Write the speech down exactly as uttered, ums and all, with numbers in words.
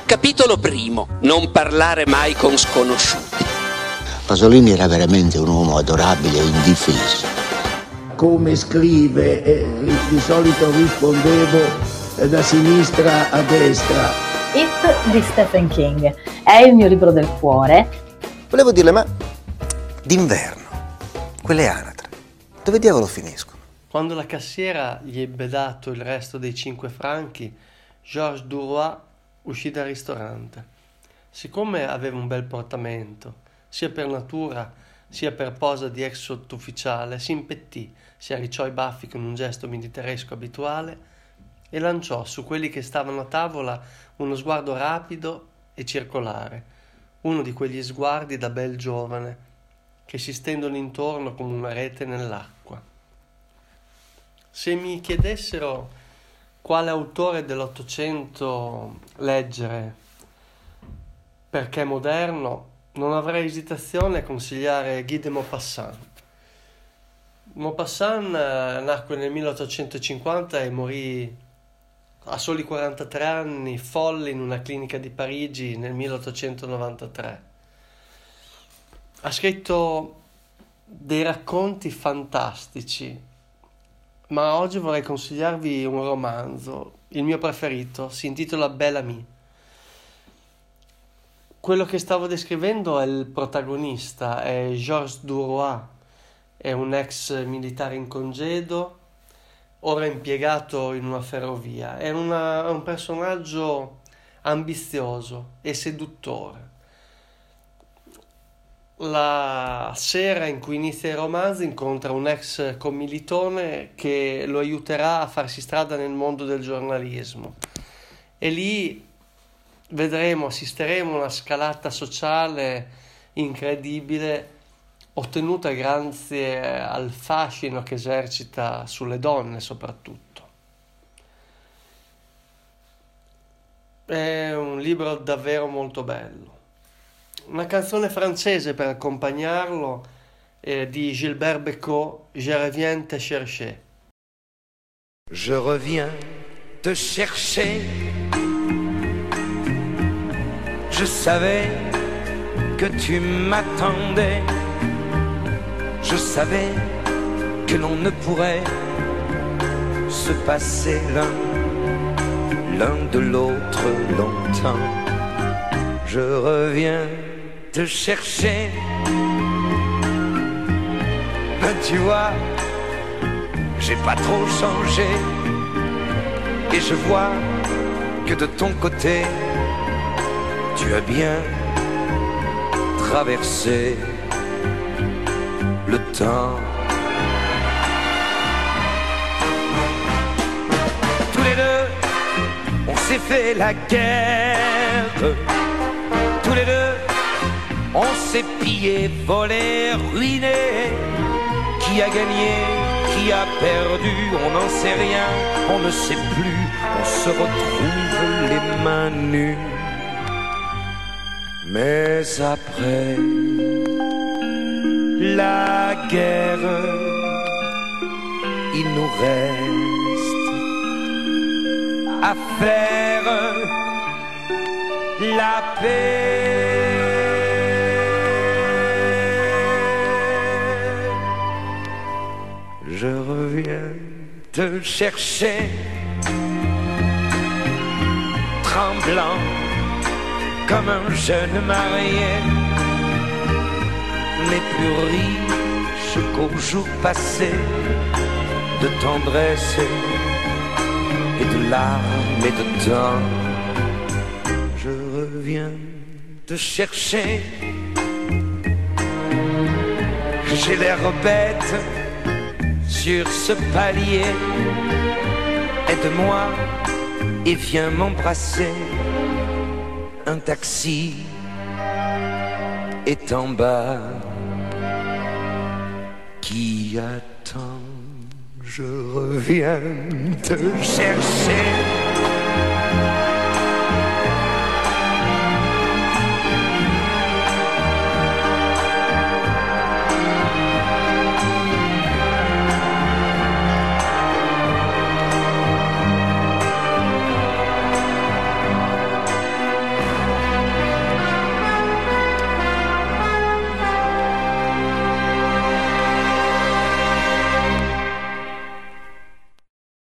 Capitolo primo. Non parlare mai con sconosciuti. Pasolini era veramente un uomo adorabile e indifeso. Come scrive, eh, di solito rispondevo eh, da sinistra a destra. It di Stephen King è il mio libro del cuore. Volevo dirle, ma d'inverno, quelle anatre, dove diavolo finiscono? Quando la cassiera gli ebbe dato il resto dei cinque franchi, Georges Duroy uscì dal ristorante. Siccome aveva un bel portamento, sia per natura sia per posa di ex sottufficiale, si impettì, si arricciò i baffi con un gesto militaresco abituale e lanciò su quelli che stavano a tavola uno sguardo rapido e circolare, uno di quegli sguardi da bel giovane che si stendono intorno come una rete nell'acqua. Se mi chiedessero quale autore dell'Ottocento leggere perché moderno, non avrei esitazione a consigliare Guy de Maupassant. Maupassant nacque nel milleottocentocinquanta e morì a soli quarantatré anni, folle, in una clinica di Parigi nel milleottocentonovantatré. Ha scritto dei racconti fantastici, ma oggi vorrei consigliarvi un romanzo, il mio preferito, si intitola Bel Ami. Quello che stavo descrivendo è il protagonista, è Georges Duroy, è un ex militare in congedo, ora impiegato in una ferrovia. È, una, è un personaggio ambizioso e seduttore. La sera in cui inizia il romanzo incontra un ex commilitone che lo aiuterà a farsi strada nel mondo del giornalismo e lì vedremo, assisteremo a una scalata sociale incredibile ottenuta grazie al fascino che esercita sulle donne soprattutto. È un libro davvero molto bello. Una canzone francese per accompagnarlo eh, di Gilbert Bécaud, Je reviens te chercher. Je reviens te chercher. Je savais que tu m'attendais. Je savais que l'on ne pourrait se passer l'un, l'un de l'autre longtemps. Je reviens te chercher. Ben tu vois, j'ai pas trop changé. Et je vois que de ton côté, tu as bien traversé le temps. Tous les deux, on s'est fait la guerre. Tous les deux, on s'est pillé, volé, ruiné. Qui a gagné, qui a perdu, on n'en sait rien, on ne sait plus. On se retrouve les mains nues. Mais après la guerre, il nous reste à faire la paix. Je reviens te chercher, tremblant comme un jeune marié, mais plus riche qu'au jour passé, de tendresse et de larmes et de temps. Je reviens te chercher. J'ai l'air bête sur ce palier. Aide-moi et viens m'embrasser. Un taxi est en bas qui attend. Je reviens te chercher.